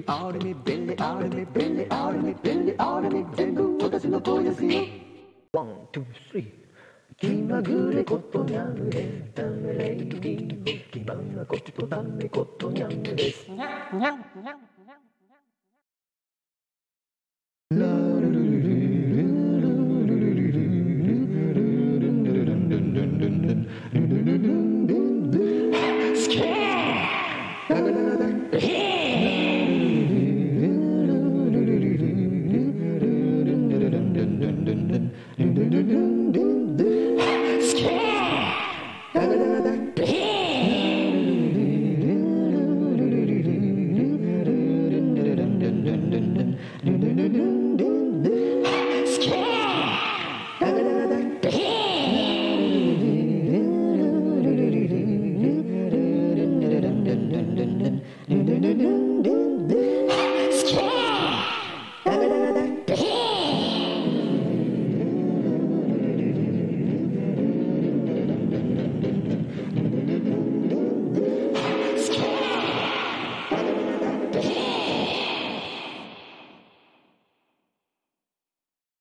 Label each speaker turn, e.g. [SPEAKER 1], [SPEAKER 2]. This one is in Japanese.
[SPEAKER 1] アルミ便利アルミ便利アルミ便利アルミ全部私の声ですよ。ワン、ツー、スリー。気まぐれことにゃんエンタメレイディオ気まなことためことにゃんです。